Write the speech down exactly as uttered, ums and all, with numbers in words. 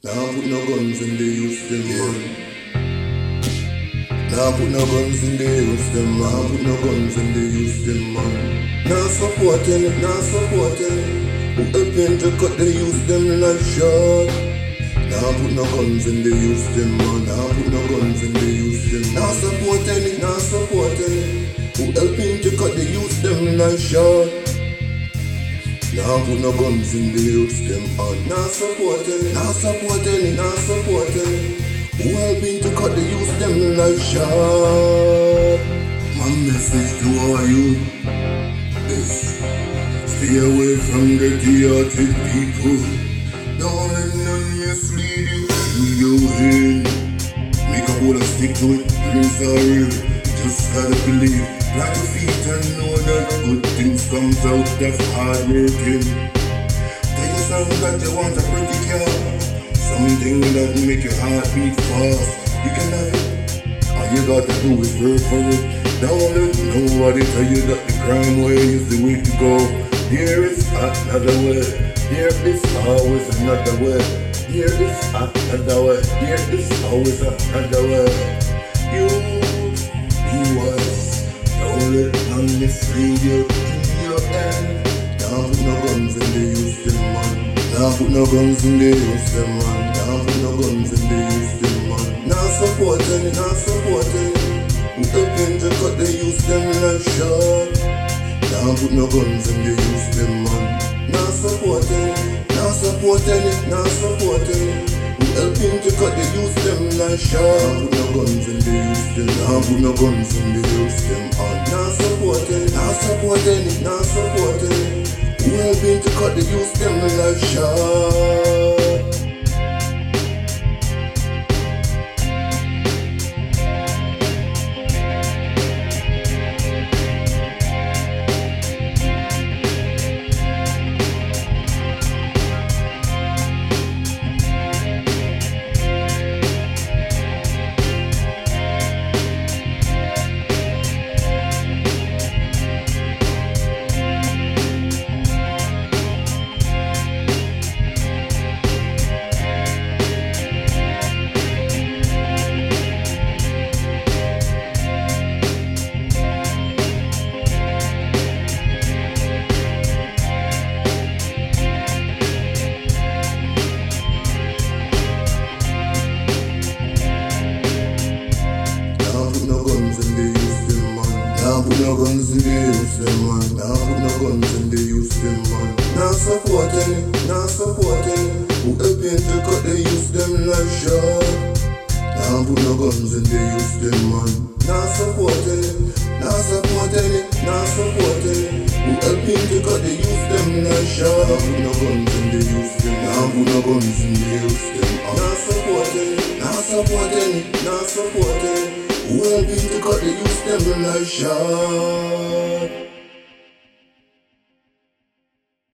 Now put no guns in the youth them man. Now put no guns in the youth them man. Now put no guns in the youth them man. Now supporting it, now supporting it. Who helping to cut the youth them life short. Now put no guns in the youth them man. Now put no guns in the youth them. Now supporting it, now supporting it. Who helping to cut the youth them life short. Now put no guns in the youth them on. Now supporting it, now supporting it, now supporting it. Who helping to cut the youth them life short. My message to all you is stay away from the chaotic people. Don't let none mislead you in your head. Make a hold and stick to it, dreams are real. Just gotta believe, plant your feet and know that good things comes out of hard working. Tell yourself that you want a pretty car, something that make your heart beat fast. You can have it, all you gotta do is work for it. Don't let nobody tell you that the crime way is the way to go. There is another way, there is always another way. There is another way, there is always another way. You be wise, don't let none mislead you in your end. Now put no guns in the youth them man. Now put no guns in the youth them man. Now put no guns in the youth them man. Now supporting it, now supporting it. Who helping to cut the youth them life short. Now put no guns in the youth them man. Now supporting it, now supporting it, now supporting it. Who helping to cut the youth them life short. Now put no guns in the youth them. Now put no guns in the youth them on. Now supporting it, now supporting it, now supporting it. Who helping to cut the youth them life short. Now put no guns in the youth them man. Now put no guns in the youth them man. Now supporting it, now supporting it. Who helping to cut the youth them life short. Now put no guns in the youth them man. Now supporting it, now supporting it, now supporting it. Who helping to cut the youth them life short. Now put no guns in the youth them. Now put no guns in the youth them. Now supporting it, now supporting it, now supporting it. Who helping to cut the youth them life short.